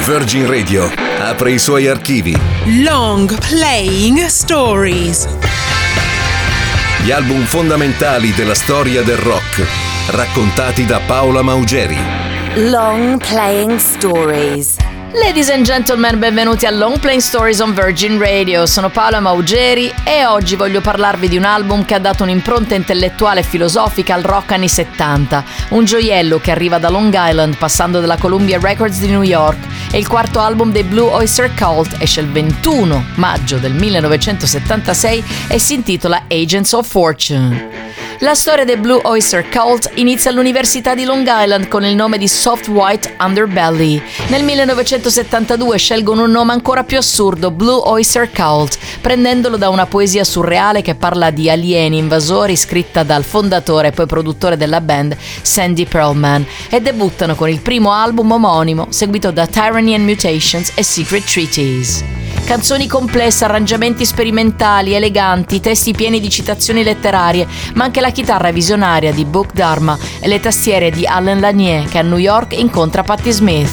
Virgin Radio apre i suoi archivi. Long Playing Stories. Gli album fondamentali della storia del rock, raccontati da Paola Maugeri. Long Playing Stories. Ladies and gentlemen, benvenuti a Long Playing Stories on Virgin Radio. Sono Paola Maugeri e oggi voglio parlarvi di un album che ha dato un'impronta intellettuale e filosofica al rock anni 70. Un gioiello che arriva da Long Island passando dalla Columbia Records di New York. È il quarto album dei Blue Oyster Cult, esce il 21 maggio del 1976 e si intitola Agents of Fortune. La storia dei Blue Oyster Cult inizia all'Università di Long Island con il nome di Soft White Underbelly. Nel 1972 scelgono un nome ancora più assurdo, Blue Oyster Cult, prendendolo da una poesia surreale che parla di alieni invasori scritta dal fondatore e poi produttore della band Sandy Pearlman, e debuttano con il primo album omonimo, seguito da Tyranny and Mutations e Secret Treaties. Canzoni complesse, arrangiamenti sperimentali, eleganti, testi pieni di citazioni letterarie, ma anche la chitarra visionaria di Buck Dharma e le tastiere di Allen Lanier, che a New York incontra Patti Smith.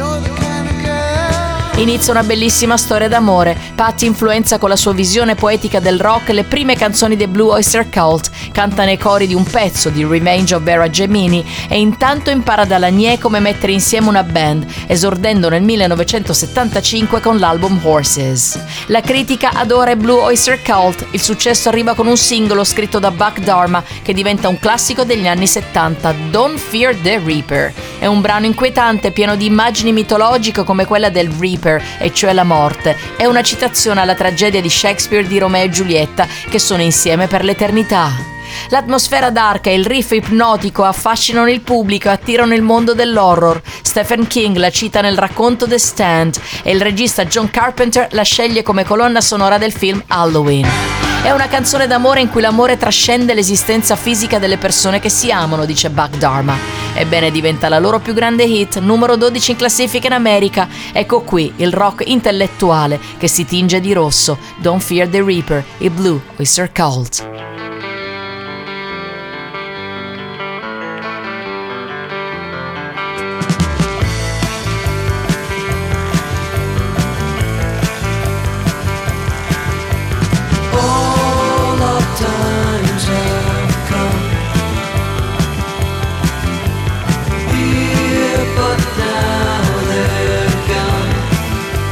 Inizia una bellissima storia d'amore. Patti influenza con la sua visione poetica del rock le prime canzoni dei Blue Oyster Cult, canta nei cori di un pezzo di Revenge of Vera Gemini e intanto impara da Lanier come mettere insieme una band, esordendo nel 1975 con l'album Horses. La critica adora i Blue Oyster Cult, il successo arriva con un singolo scritto da Buck Dharma che diventa un classico degli anni 70, Don't Fear the Reaper. È un brano inquietante, pieno di immagini mitologiche come quella del Reaper, e cioè la morte. È una citazione alla tragedia di Shakespeare di Romeo e Giulietta, che sono insieme per l'eternità. L'atmosfera dark e il riff ipnotico affascinano il pubblico e attirano il mondo dell'horror. Stephen King la cita nel racconto The Stand e il regista John Carpenter la sceglie come colonna sonora del film Halloween. È una canzone d'amore in cui l'amore trascende l'esistenza fisica delle persone che si amano, dice Buck Dharma. Ebbene, diventa la loro più grande hit, numero 12 in classifica in America. Ecco qui il rock intellettuale che si tinge di rosso. Don't Fear the Reaper, i Blue Oyster Cult.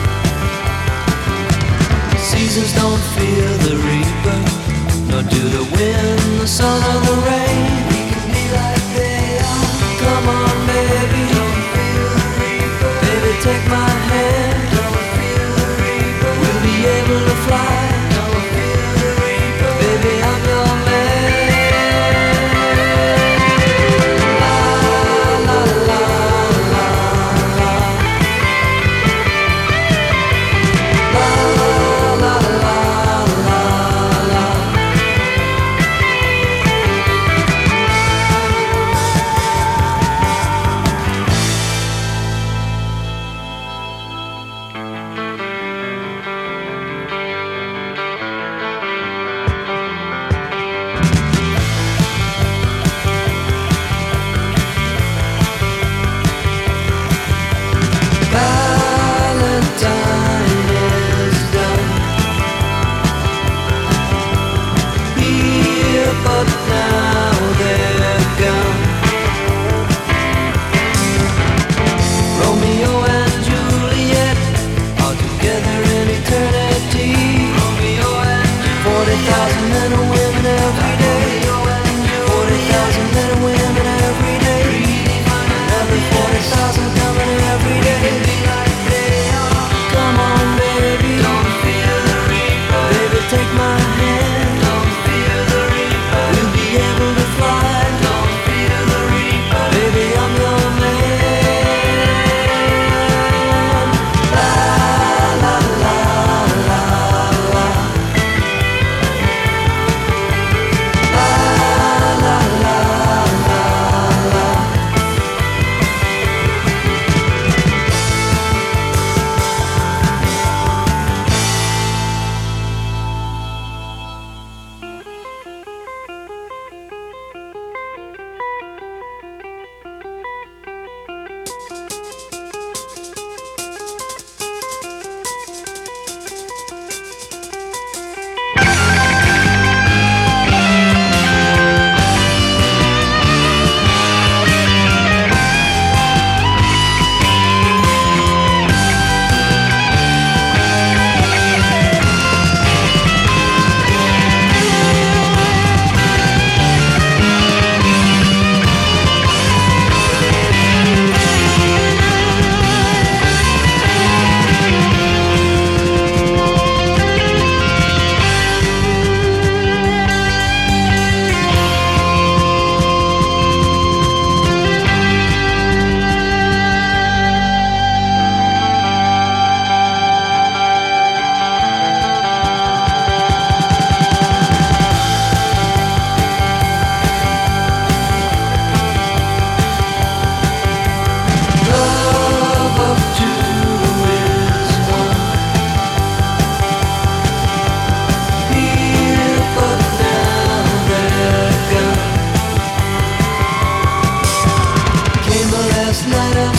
Seasons don't fear the reaper, nor do the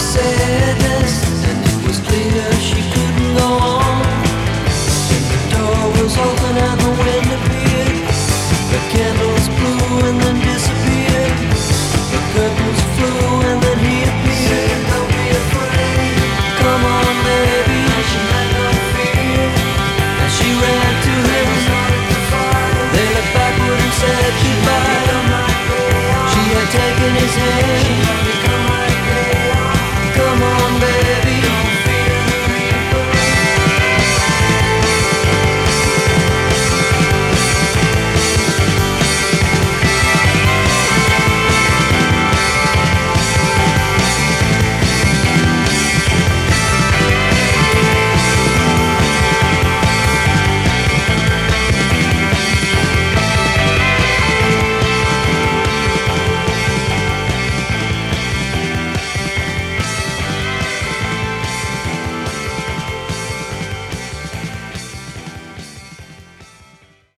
sadness.